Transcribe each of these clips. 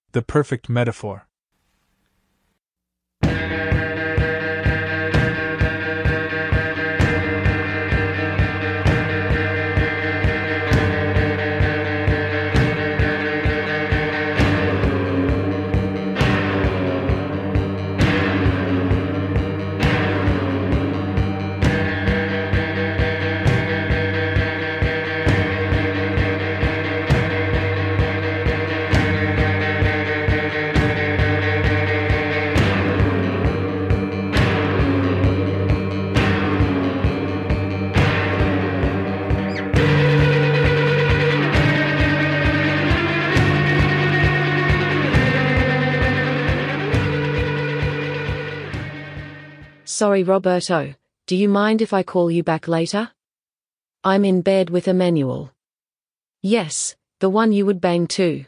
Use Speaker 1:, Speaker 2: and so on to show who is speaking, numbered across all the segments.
Speaker 1: The perfect metaphor.
Speaker 2: Sorry, Roberto, do you mind if I call you back later? I'm in bed with Emmanuel. Yes, the one you would bang too.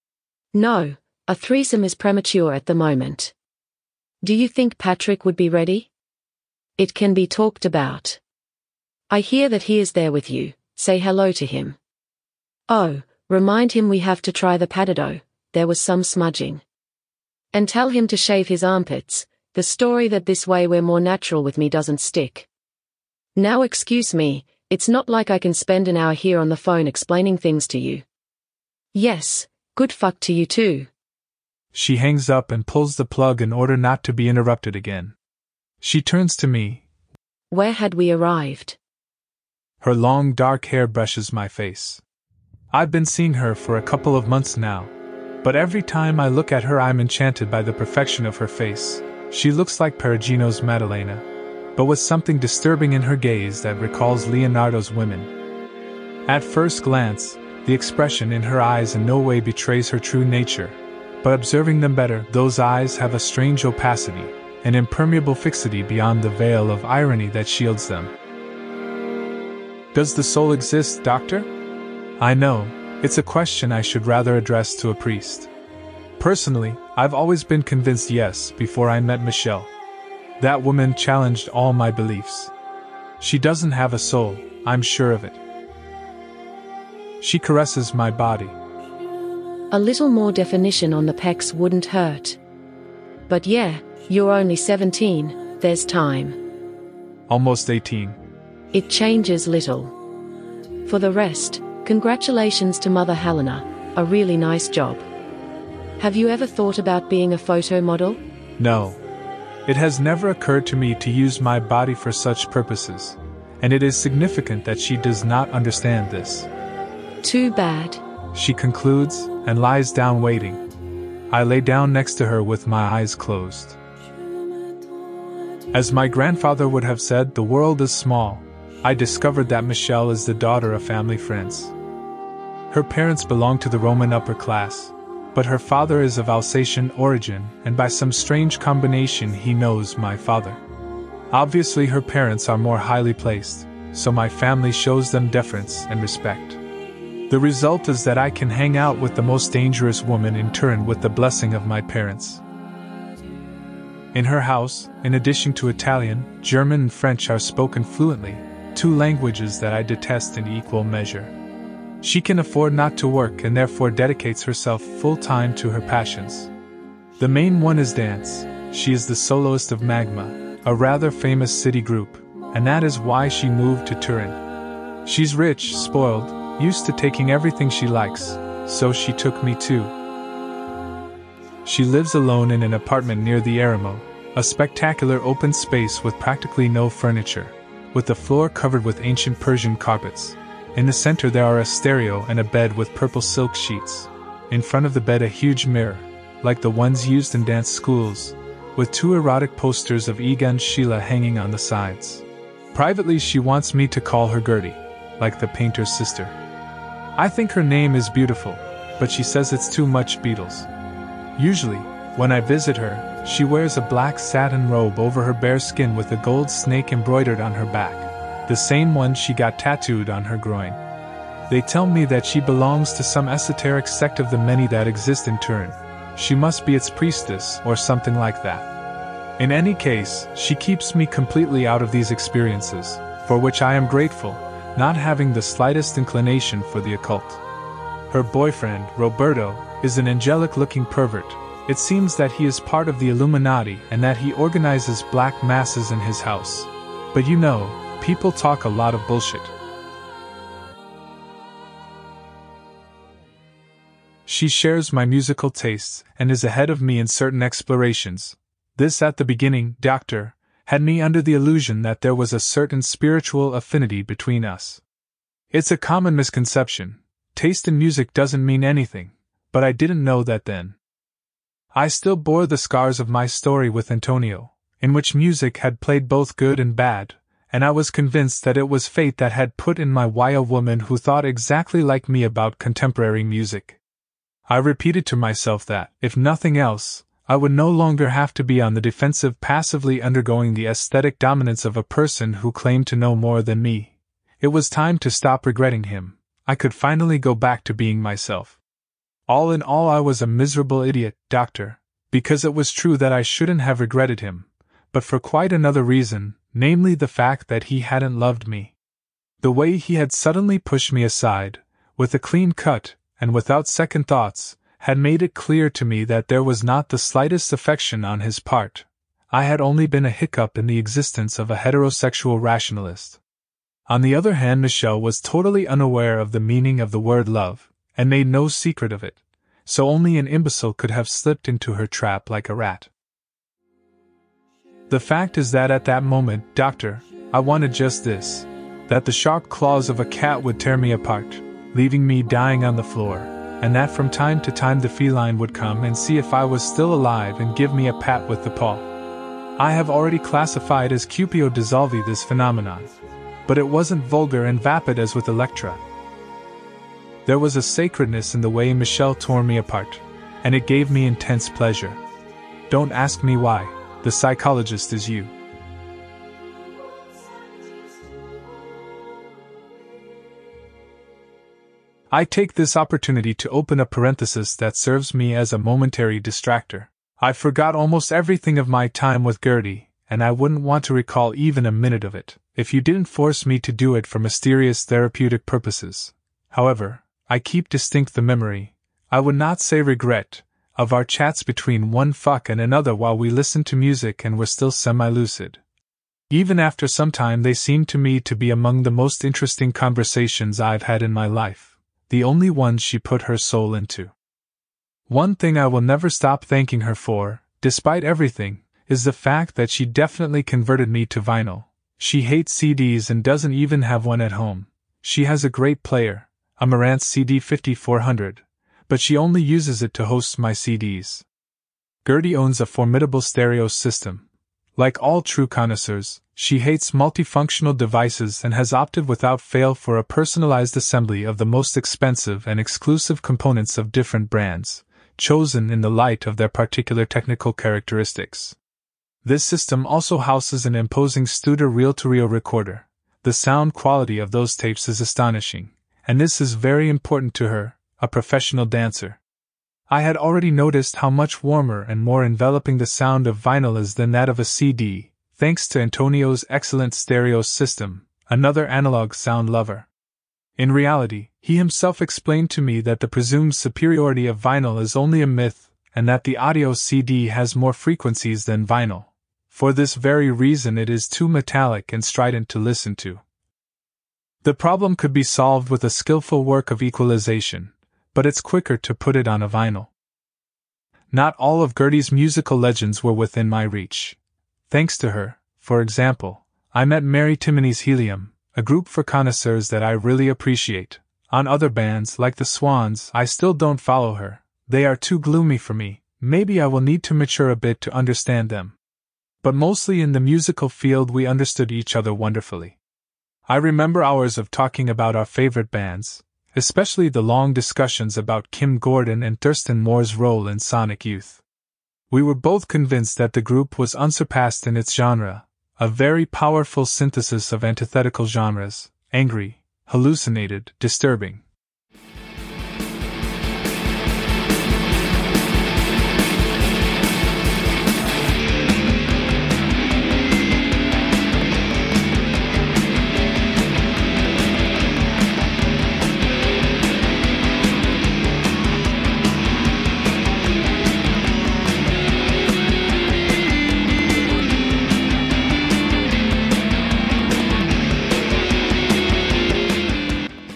Speaker 2: No, a threesome is premature at the moment. Do you think Patrick would be ready? It can be talked about. I hear that he is there with you, say hello to him. Oh, remind him we have to try the patado, there was some smudging. And tell him to shave his armpits. The story that this way we're more natural with me doesn't stick. Now excuse me, it's not like I can spend an hour here on the phone explaining things to you. Yes, good fuck to you too.
Speaker 1: She hangs up and pulls the plug in order not to be interrupted again. She turns to me.
Speaker 2: Where had we arrived?
Speaker 1: Her long dark hair brushes my face. I've been seeing her for a couple of months now, but every time I look at her I'm enchanted by the perfection of her face. She looks like Perugino's Maddalena, but with something disturbing in her gaze that recalls Leonardo's women. At first glance, the expression in her eyes in no way betrays her true nature, but observing them better, those eyes have a strange opacity, an impermeable fixity beyond the veil of irony that shields them. Does the soul exist, Doctor? I know, it's a question I should rather address to a priest. Personally, I've always been convinced yes before I met Michelle. That woman challenged all my beliefs. She doesn't have a soul, I'm sure of it. She caresses my body.
Speaker 2: A little more definition on the pecs wouldn't hurt. But yeah, you're only 17, there's time.
Speaker 1: Almost 18.
Speaker 2: It changes little. For the rest, congratulations to Mother Helena, a really nice job. Have you ever thought about being a photo model?
Speaker 1: No. It has never occurred to me to use my body for such purposes, and it is significant that she does not understand this.
Speaker 2: Too bad.
Speaker 1: She concludes, and lies down waiting. I lay down next to her with my eyes closed. As my grandfather would have said, the world is small. I discovered that Michelle is the daughter of family friends. Her parents belong to the Roman upper class, but her father is of Alsatian origin, and by some strange combination he knows my father. Obviously her parents are more highly placed, so my family shows them deference and respect. The result is that I can hang out with the most dangerous woman in Turin with the blessing of my parents. In her house, in addition to Italian, German and French are spoken fluently, two languages that I detest in equal measure. She can afford not to work and therefore dedicates herself full-time to her passions. The main one is dance. She is the soloist of Magma, a rather famous city group, and that is why she moved to Turin. She's rich, spoiled, used to taking everything she likes, so she took me too. She lives alone in an apartment near the Eremo, a spectacular open space with practically no furniture, with the floor covered with ancient Persian carpets. In the center there are a stereo and a bed with purple silk sheets. In front of the bed a huge mirror, like the ones used in dance schools, with two erotic posters of Egon Schiele hanging on the sides. Privately she wants me to call her Gertie, like the painter's sister. I think her name is beautiful, but she says it's too much Beatles. Usually, when I visit her, she wears a black satin robe over her bare skin with a gold snake embroidered on her back, the same one she got tattooed on her groin. They tell me that she belongs to some esoteric sect of the many that exist in Turin. She must be its priestess or something like that. In any case, she keeps me completely out of these experiences, for which I am grateful, not having the slightest inclination for the occult. Her boyfriend, Roberto, is an angelic-looking pervert. It seems that he is part of the Illuminati and that he organizes black masses in his house. But you know, people talk a lot of bullshit. She shares my musical tastes and is ahead of me in certain explorations. This at the beginning, Doctor, had me under the illusion that there was a certain spiritual affinity between us. It's a common misconception. Taste in music doesn't mean anything, but I didn't know that then. I still bore the scars of my story with Antonio, in which music had played both good and bad, and I was convinced that it was fate that had put in my way a woman who thought exactly like me about contemporary music. I repeated to myself that, if nothing else, I would no longer have to be on the defensive passively undergoing the aesthetic dominance of a person who claimed to know more than me. It was time to stop regretting him. I could finally go back to being myself. All in all, I was a miserable idiot, Doctor, because it was true that I shouldn't have regretted him, but for quite another reason, namely the fact that he hadn't loved me. The way he had suddenly pushed me aside, with a clean cut, and without second thoughts, had made it clear to me that there was not the slightest affection on his part. I had only been a hiccup in the existence of a heterosexual rationalist. On the other hand, Michelle was totally unaware of the meaning of the word love, and made no secret of it, so only an imbecile could have slipped into her trap like a rat. The fact is that at that moment, Doctor, I wanted just this, that the sharp claws of a cat would tear me apart, leaving me dying on the floor, and that from time to time the feline would come and see if I was still alive and give me a pat with the paw. I have already classified as Cupio dissolvi this phenomenon, but it wasn't vulgar and vapid as with Electra. There was a sacredness in the way Michelle tore me apart, and it gave me intense pleasure. Don't ask me why, the psychologist is you. I take this opportunity to open a parenthesis that serves me as a momentary distractor. I forgot almost everything of my time with Gertie, and I wouldn't want to recall even a minute of it, if you didn't force me to do it for mysterious therapeutic purposes. However, I keep distinct the memory, I would not say regret, of our chats between one fuck and another while we listened to music and were still semi-lucid. Even after some time they seemed to me to be among the most interesting conversations I've had in my life, the only ones she put her soul into. One thing I will never stop thanking her for, despite everything, is the fact that she definitely converted me to vinyl. She hates CDs and doesn't even have one at home. She has a great player, a Marantz CD 5400, but she only uses it to host my CDs. Gertie owns a formidable stereo system. Like all true connoisseurs, she hates multifunctional devices and has opted without fail for a personalized assembly of the most expensive and exclusive components of different brands, chosen in the light of their particular technical characteristics. This system also houses an imposing Studer reel-to-reel recorder. The sound quality of those tapes is astonishing, and this is very important to her, a professional dancer. I had already noticed how much warmer and more enveloping the sound of vinyl is than that of a CD, thanks to Antonio's excellent stereo system, another analog sound lover. In reality, he himself explained to me that the presumed superiority of vinyl is only a myth, and that the audio CD has more frequencies than vinyl. For this very reason it is too metallic and strident to listen to. The problem could be solved with a skillful work of equalization, but it's quicker to put it on a vinyl. Not all of Gertie's musical legends were within my reach. Thanks to her, for example, I met Mary Timony's Helium, a group for connoisseurs that I really appreciate. On other bands, like the Swans, I still don't follow her. They are too gloomy for me. Maybe I will need to mature a bit to understand them. But mostly in the musical field we understood each other wonderfully. I remember hours of talking about our favorite bands, especially the long discussions about Kim Gordon and Thurston Moore's role in Sonic Youth. We were both convinced that the group was unsurpassed in its genre, a very powerful synthesis of antithetical genres, angry, hallucinated, disturbing.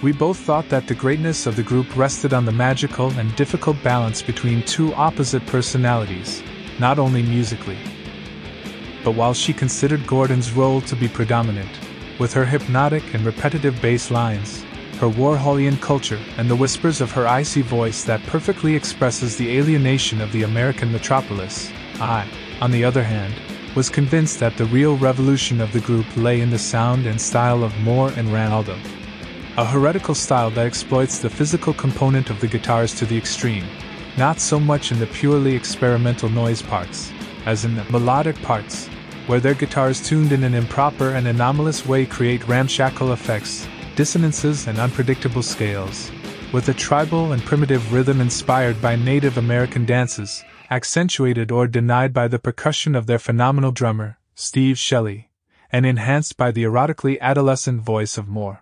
Speaker 1: We both thought that the greatness of the group rested on the magical and difficult balance between two opposite personalities, not only musically. But while she considered Gordon's role to be predominant, with her hypnotic and repetitive bass lines, her Warholian culture, and the whispers of her icy voice that perfectly expresses the alienation of the American metropolis, I, on the other hand, was convinced that the real revolution of the group lay in the sound and style of Moore and Ranaldo. A heretical style that exploits the physical component of the guitars to the extreme, not so much in the purely experimental noise parts, as in the melodic parts, where their guitars tuned in an improper and anomalous way create ramshackle effects, dissonances and unpredictable scales, with a tribal and primitive rhythm inspired by Native American dances, accentuated or denied by the percussion of their phenomenal drummer, Steve Shelley, and enhanced by the erotically adolescent voice of Moore.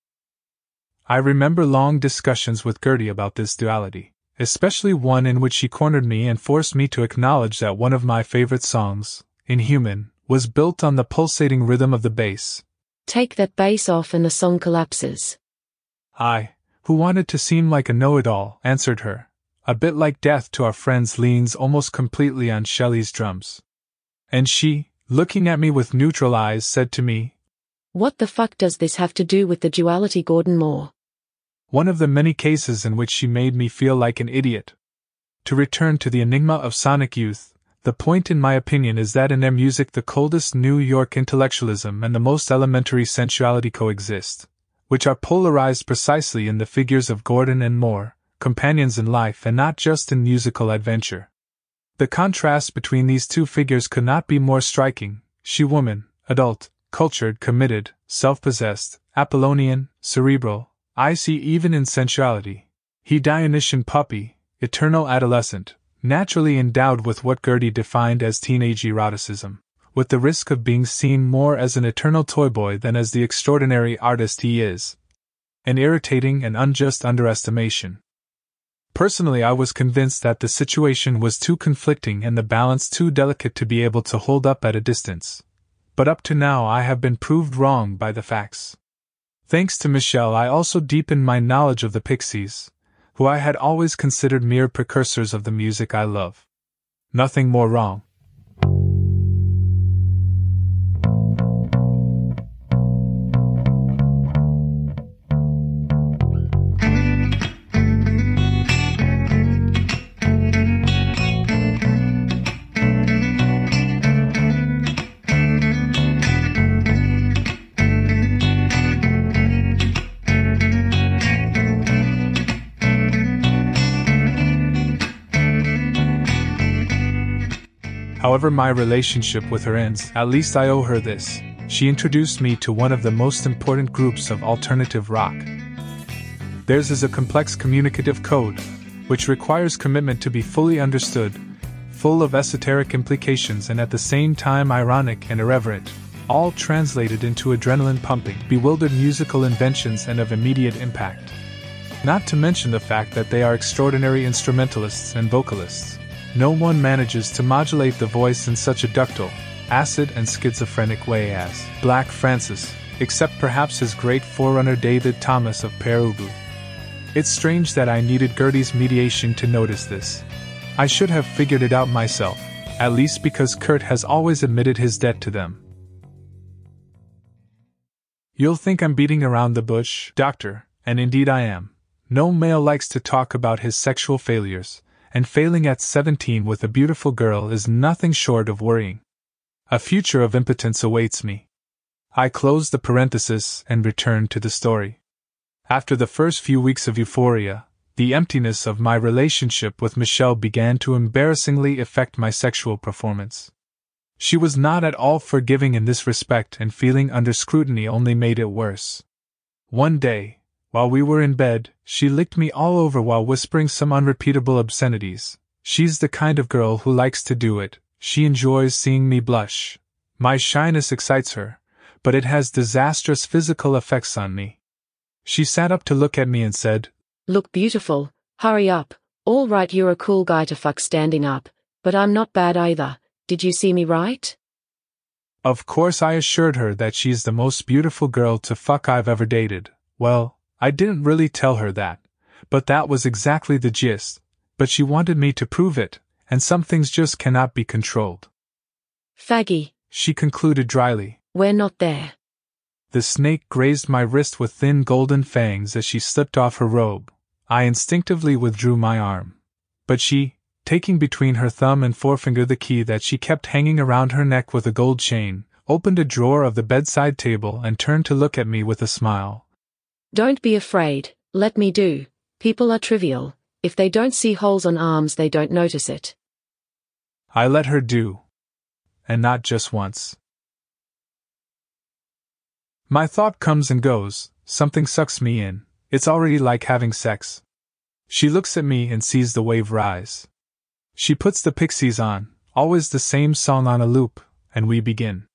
Speaker 1: I remember long discussions with Gertie about this duality, especially one in which she cornered me and forced me to acknowledge that one of my favorite songs, Inhuman, was built on the pulsating rhythm of the bass.
Speaker 2: Take that bass off and the song collapses.
Speaker 1: I, who wanted to seem like a know-it-all, answered her, a bit like Death to Our Friends leans almost completely on Shelley's drums. And she, looking at me with neutral eyes, said to me,
Speaker 2: "What the fuck does this have to do with the duality, Gordon Moore?"
Speaker 1: One of the many cases in which she made me feel like an idiot. To return to the enigma of Sonic Youth, the point in my opinion is that in their music the coldest New York intellectualism and the most elementary sensuality coexist, which are polarized precisely in the figures of Gordon and Moore, companions in life and not just in musical adventure. The contrast between these two figures could not be more striking: she woman, adult, cultured, committed, self-possessed, Apollonian, cerebral, icy even in sensuality; he Dionysian puppy, eternal adolescent, naturally endowed with what Gertie defined as teenage eroticism, with the risk of being seen more as an eternal toyboy than as the extraordinary artist he is. An irritating and unjust underestimation. Personally, I was convinced that the situation was too conflicting and the balance too delicate to be able to hold up at a distance. But up to now I have been proved wrong by the facts. Thanks to Michelle, I also deepened my knowledge of the Pixies, who I had always considered mere precursors of the music I love. Nothing more wrong. However my relationship with her ends, at least I owe her this: she introduced me to one of the most important groups of alternative rock. Theirs is a complex communicative code, which requires commitment to be fully understood, full of esoteric implications and at the same time ironic and irreverent, all translated into adrenaline-pumping, bewildered musical inventions and of immediate impact. Not to mention the fact that they are extraordinary instrumentalists and vocalists. No one manages to modulate the voice in such a ductile, acid and schizophrenic way as Black Francis, except perhaps his great forerunner David Thomas of Pere Ubu. It's strange that I needed Gertie's mediation to notice this. I should have figured it out myself, at least because Kurt has always admitted his debt to them. You'll think I'm beating around the bush, Doctor, and indeed I am. No male likes to talk about his sexual failures, and failing at 17 with a beautiful girl is nothing short of worrying. A future of impotence awaits me. I closed the parenthesis and returned to the story. After the first few weeks of euphoria, the emptiness of my relationship with Michelle began to embarrassingly affect my sexual performance. She was not at all forgiving in this respect, and feeling under scrutiny only made it worse. One day, while we were in bed, she licked me all over while whispering some unrepeatable obscenities. She's the kind of girl who likes to do it. She enjoys seeing me blush. My shyness excites her, but it has disastrous physical effects on me. She sat up to look at me and said,
Speaker 2: "Look beautiful, hurry up. All right, you're a cool guy to fuck standing up, but I'm not bad either. Did you see me right?"
Speaker 1: Of course I assured her that she's the most beautiful girl to fuck I've ever dated. Well, I didn't really tell her that, but that was exactly the gist. But she wanted me to prove it, and some things just cannot be controlled.
Speaker 2: Faggy,
Speaker 1: She concluded dryly.
Speaker 2: we're not there.
Speaker 1: The snake grazed my wrist with thin golden fangs as she slipped off her robe. I instinctively withdrew my arm. But she, taking between her thumb and forefinger the key that she kept hanging around her neck with a gold chain, opened a drawer of the bedside table and turned to look at me with a smile.
Speaker 2: Don't be afraid, let me do. People are trivial. If they don't see holes on arms, they don't notice it.
Speaker 1: I let her do. And not just once. My thought comes and goes, something sucks me in, it's already like having sex. She looks at me and sees the wave rise. She puts the Pixies on, always the same song on a loop, and we begin.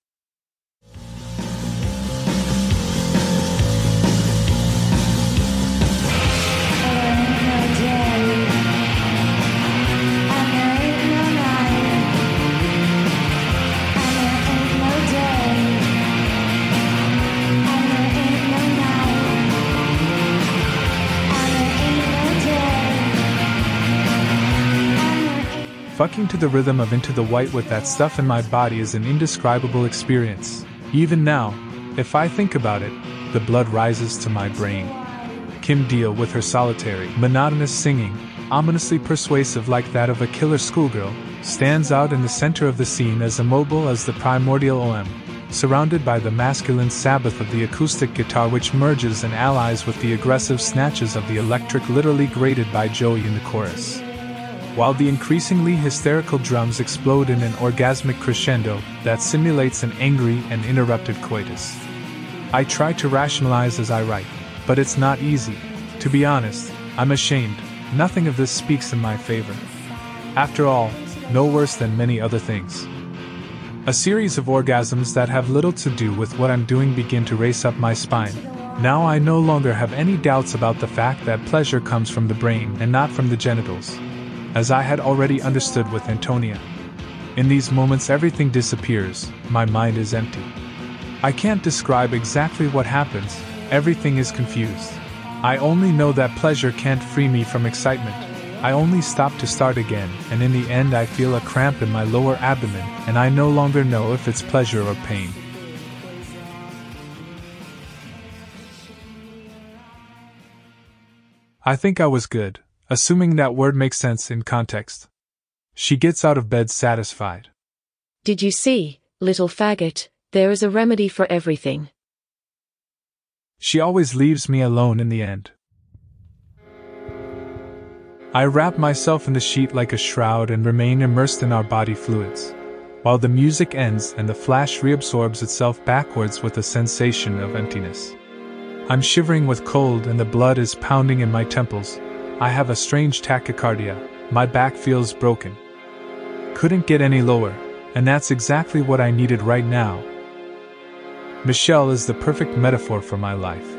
Speaker 1: Fucking to the rhythm of Into the White with that stuff in my body is an indescribable experience. Even now, if I think about it, the blood rises to my brain. Kim Deal with her solitary, monotonous singing, ominously persuasive like that of a killer schoolgirl, stands out in the center of the scene as immobile as the primordial OM, surrounded by the masculine sabbath of the acoustic guitar which merges and allies with the aggressive snatches of the electric literally grated by Joey in the chorus. While the increasingly hysterical drums explode in an orgasmic crescendo that simulates an angry and interrupted coitus. I try to rationalize as I write, but it's not easy. To be honest, I'm ashamed, nothing of this speaks in my favor. After all, no worse than many other things. A series of orgasms that have little to do with what I'm doing begin to race up my spine. Now I no longer have any doubts about the fact that pleasure comes from the brain and not from the genitals, as I had already understood with Antonia. In these moments everything disappears, my mind is empty. I can't describe exactly what happens, everything is confused. I only know that pleasure can't free me from excitement. I only stop to start again, and in the end I feel a cramp in my lower abdomen, and I no longer know if it's pleasure or pain. I think I was good, assuming that word makes sense in context. She gets out of bed satisfied.
Speaker 2: Did you see, little faggot, there is a remedy for everything.
Speaker 1: She always leaves me alone in the end. I wrap myself in the sheet like a shroud and remain immersed in our body fluids, while the music ends and the flash reabsorbs itself backwards with a sensation of emptiness. I'm shivering with cold and the blood is pounding in my temples. I have a strange tachycardia, my back feels broken. Couldn't get any lower, and that's exactly what I needed right now. Michelle is the perfect metaphor for my life.